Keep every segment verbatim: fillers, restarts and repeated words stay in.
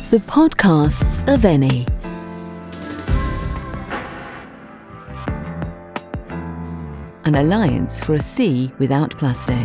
The podcasts of Eni. An alliance for a sea without plastic.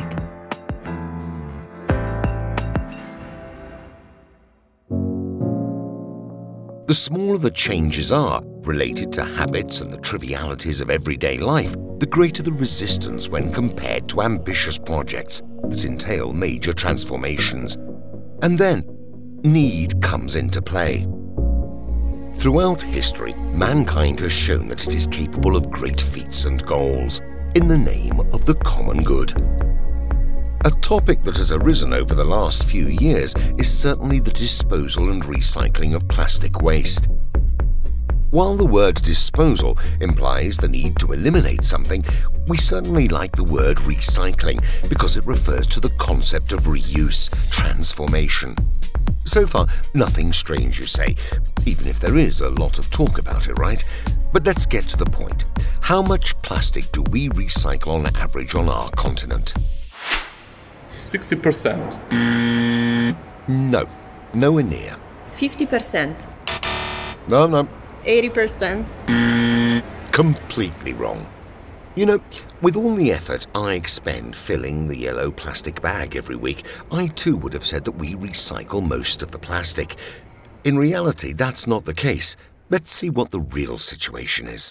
The smaller the changes are related to habits and the trivialities of everyday life, the greater the resistance when compared to ambitious projects that entail major transformations. And then, need comes into play. Throughout history, mankind has shown that it is capable of great feats and goals in the name of the common good. A topic that has arisen over the last few years is certainly the disposal and recycling of plastic waste. While the word disposal implies the need to eliminate something, we certainly like the word recycling because it refers to the concept of reuse, transformation. So far, nothing strange, you say, even if there is a lot of talk about it, right? But let's get to the point. How much plastic do we recycle on average on our continent? sixty percent. No, nowhere near. fifty percent. No, no. eighty percent. Completely wrong. You know, with all the effort I expend filling the yellow plastic bag every week, I too would have said that we recycle most of the plastic. In reality, that's not the case. Let's see what the real situation is.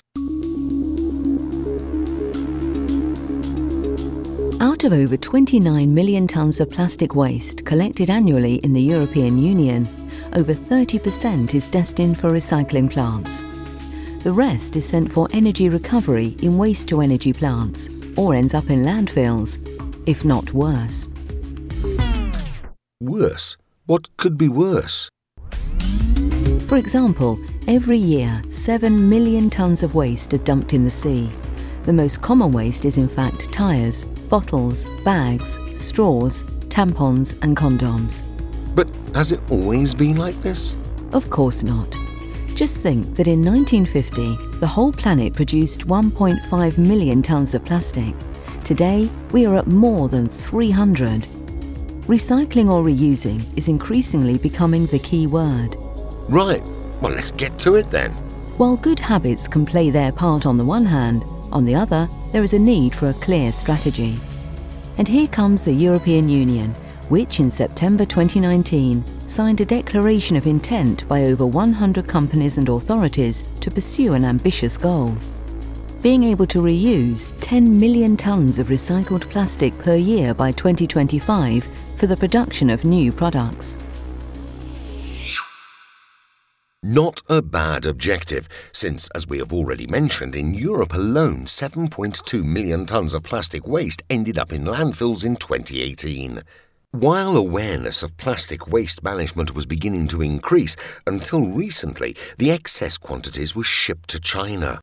Out of over twenty-nine million tonnes of plastic waste collected annually in the European Union, over thirty percent is destined for recycling plants. The rest is sent for energy recovery in waste-to-energy plants or ends up in landfills, if not worse. Worse? What could be worse? For example, every year, seven million tonnes of waste are dumped in the sea. The most common waste is in fact tyres, bottles, bags, straws, tampons and condoms. But has it always been like this? Of course not. Just think that in nineteen fifty, the whole planet produced one point five million tonnes of plastic. Today, we are at more than three hundred. Recycling or reusing is increasingly becoming the key word. Right. Well, let's get to it then. While good habits can play their part on the one hand, on the other, there is a need for a clear strategy. And here comes the European Union, which in September twenty nineteen signed a declaration of intent by over one hundred companies and authorities to pursue an ambitious goal. Being able to reuse ten million tonnes of recycled plastic per year by twenty twenty-five for the production of new products. Not a bad objective, since, as we have already mentioned, in Europe alone, seven point two million tonnes of plastic waste ended up in landfills in twenty eighteen. While awareness of plastic waste management was beginning to increase, until recently, the excess quantities were shipped to China.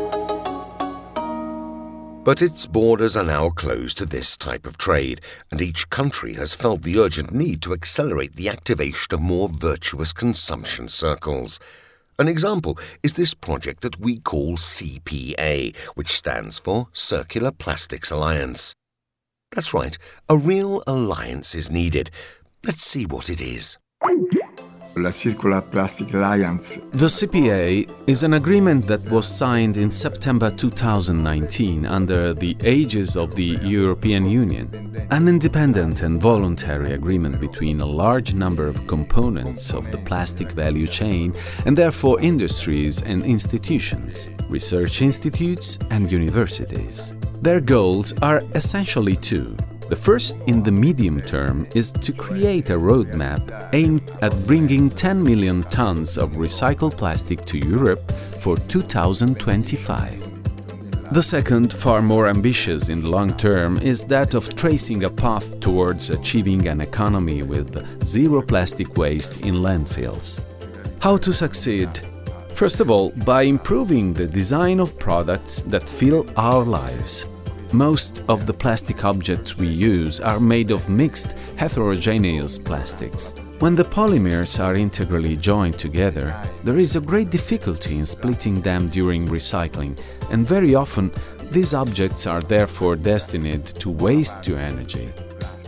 But its borders are now closed to this type of trade, and each country has felt the urgent need to accelerate the activation of more virtuous consumption circles. An example is this project that we call C P A, which stands for Circular Plastics Alliance. That's right, a real alliance is needed. Let's see what it is. La Circular Plastic Alliance. The C P A is an agreement that was signed in September two thousand nineteen under the aegis of the European Union, an independent and voluntary agreement between a large number of components of the plastic value chain and therefore industries and institutions, research institutes and universities. Their goals are essentially two. The first, in the medium term, is to create a roadmap aimed at bringing ten million tonnes of recycled plastic to Europe for two thousand twenty-five. The second, far more ambitious in the long term, is that of tracing a path towards achieving an economy with zero plastic waste in landfills. How to succeed? First of all, by improving the design of products that fill our lives. Most of the plastic objects we use are made of mixed, heterogeneous plastics. When the polymers are integrally joined together, there is a great difficulty in splitting them during recycling, and very often these objects are therefore destined to waste to energy.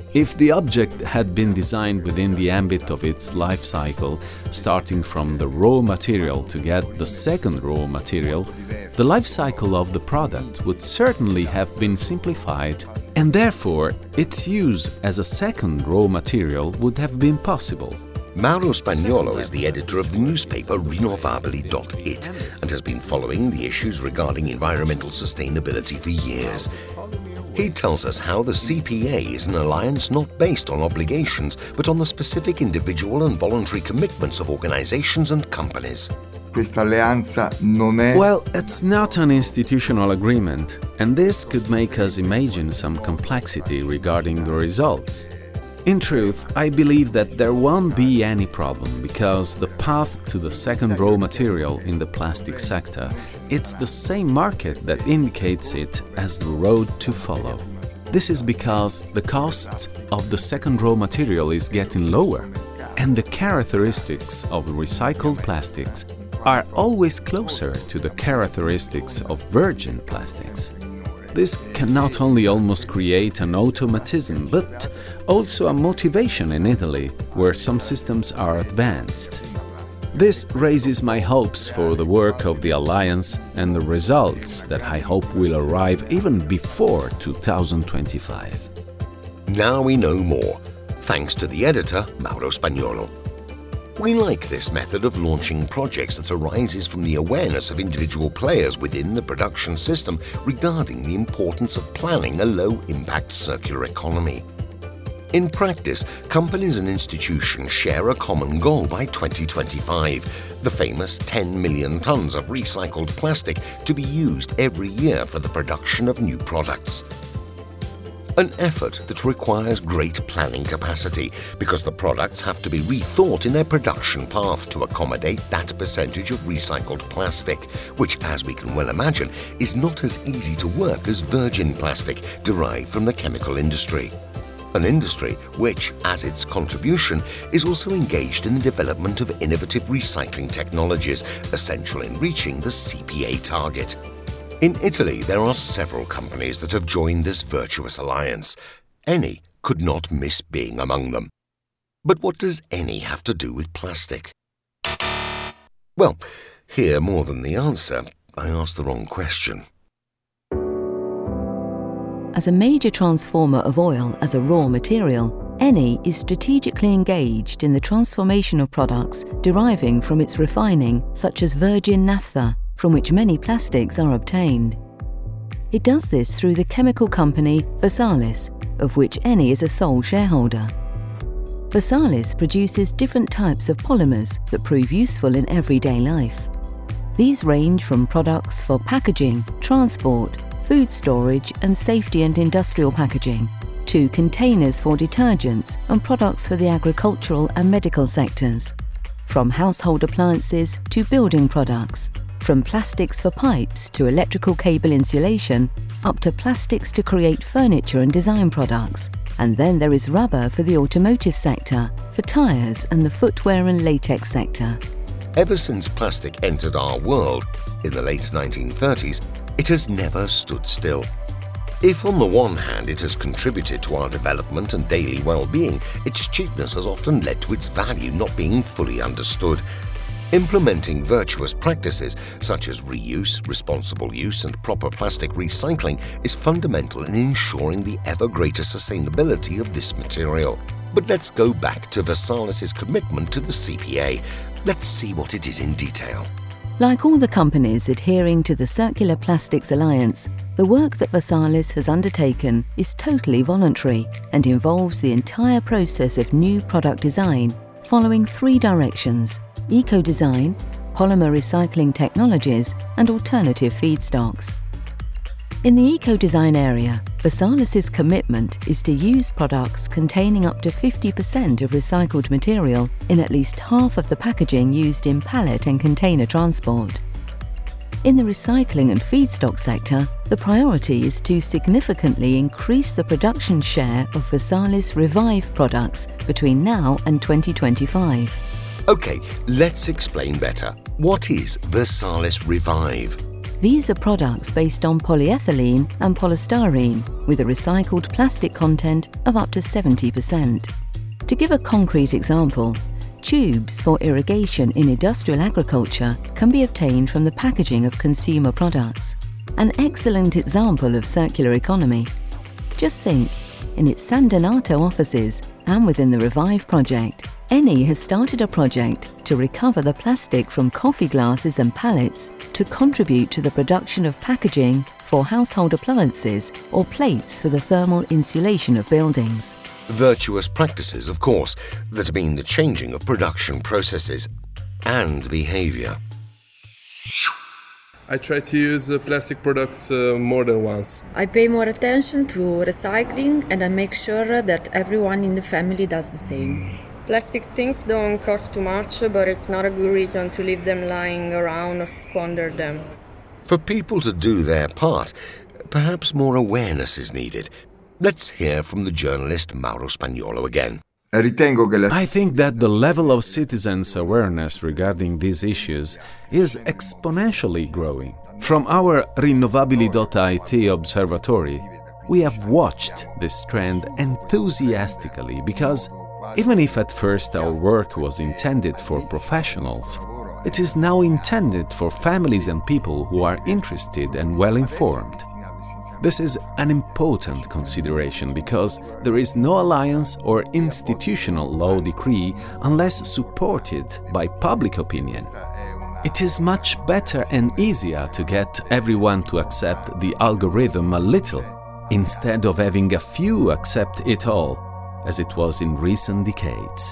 If the object had been designed within the ambit of its life cycle, starting from the raw material to get the second raw material, the life cycle of the product would certainly have been simplified, and therefore its use as a second raw material would have been possible. Mauro Spagnolo is the editor of the newspaper Rinnovabili dot it and has been following the issues regarding environmental sustainability for years. He tells us how the C P A is an alliance not based on obligations, but on the specific individual and voluntary commitments of organizations and companies. Questa alleanza non è... Well, it's not an institutional agreement, and this could make us imagine some complexity regarding the results. In truth, I believe that there won't be any problem, because the path to the second raw material in the plastic sector, it's the same market that indicates it as the road to follow. This is because the cost of the second raw material is getting lower, and the characteristics of recycled plastics are always closer to the characteristics of virgin plastics. This can not only almost create an automatism, but also a motivation in Italy, where some systems are advanced. This raises my hopes for the work of the Alliance and the results that I hope will arrive even before two thousand twenty-five. Now we know more, thanks to the editor, Mauro Spagnolo. We like this method of launching projects that arises from the awareness of individual players within the production system regarding the importance of planning a low-impact circular economy. In practice, companies and institutions share a common goal by twenty twenty-five, the famous ten million tons of recycled plastic to be used every year for the production of new products. An effort that requires great planning capacity, because the products have to be rethought in their production path to accommodate that percentage of recycled plastic, which, as we can well imagine, is not as easy to work as virgin plastic derived from the chemical industry. An industry which, as its contribution, is also engaged in the development of innovative recycling technologies, essential in reaching the C P A target. In Italy, there are several companies that have joined this virtuous alliance. Eni could not miss being among them. But what does Eni have to do with plastic? Well, here more than the answer, I asked the wrong question. As a major transformer of oil as a raw material, Eni is strategically engaged in the transformation of products deriving from its refining, such as virgin naphtha, from which many plastics are obtained. It does this through the chemical company Versalis, of which Eni is a sole shareholder. Versalis produces different types of polymers that prove useful in everyday life. These range from products for packaging, transport, food storage and safety and industrial packaging, to containers for detergents and products for the agricultural and medical sectors, from household appliances to building products, from plastics for pipes to electrical cable insulation, up to plastics to create furniture and design products. And then there is rubber for the automotive sector, for tyres and the footwear and latex sector. Ever since plastic entered our world, in the late nineteen thirties, it has never stood still. If on the one hand it has contributed to our development and daily well-being, its cheapness has often led to its value not being fully understood. Implementing virtuous practices such as reuse, responsible use and proper plastic recycling is fundamental in ensuring the ever greater sustainability of this material. But let's go back to Versalis' commitment to the C P A. Let's see what it is in detail. Like all the companies adhering to the Circular Plastics Alliance, the work that Versalis has undertaken is totally voluntary and involves the entire process of new product design, following three directions: eco-design, polymer recycling technologies, and alternative feedstocks. In the eco-design area, Versalis' commitment is to use products containing up to fifty percent of recycled material in at least half of the packaging used in pallet and container transport. In the recycling and feedstock sector, the priority is to significantly increase the production share of Versalis Revive products between now and twenty twenty-five. Okay, let's explain better. What is Versalis Revive? These are products based on polyethylene and polystyrene with a recycled plastic content of up to seventy percent. To give a concrete example, tubes for irrigation in industrial agriculture can be obtained from the packaging of consumer products. An excellent example of circular economy. Just think, in its San Donato offices and within the Revive project, Eni has started a project to recover the plastic from coffee glasses and pallets to contribute to the production of packaging for household appliances or plates for the thermal insulation of buildings. Virtuous practices, of course, that mean the changing of production processes and behaviour. I try to use uh, plastic products uh, more than once. I pay more attention to recycling and I make sure that everyone in the family does the same. Plastic things don't cost too much, but it's not a good reason to leave them lying around or squander them. For people to do their part, perhaps more awareness is needed. Let's hear from the journalist Mauro Spagnolo again. Ritengo che la... I think that the level of citizens' awareness regarding these issues is exponentially growing. From our Rinnovabili dot I T observatory, we have watched this trend enthusiastically because even if at first our work was intended for professionals, it is now intended for families and people who are interested and well-informed. This is an important consideration because there is no alliance or institutional law decree unless supported by public opinion. It is much better and easier to get everyone to accept the algorithm a little, instead of having a few accept it all, as it was in recent decades.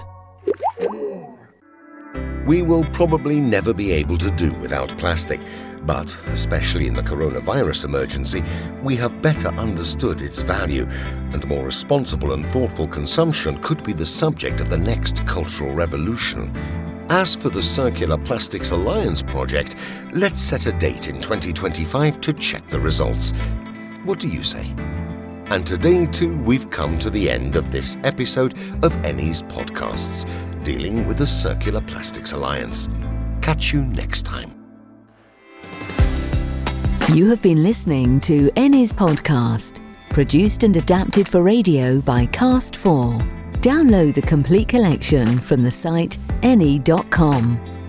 We will probably never be able to do without plastic, but especially in the coronavirus emergency, we have better understood its value, and more responsible and thoughtful consumption could be the subject of the next cultural revolution. As for the Circular Plastics Alliance project, let's set a date in twenty twenty-five to check the results. What do you say? And today too, we've come to the end of this episode of Eni's podcasts, dealing with the Circular Plastics Alliance. Catch you next time. You have been listening to Eni's podcast, produced and adapted for radio by Cast four. Download the complete collection from the site eni dot com.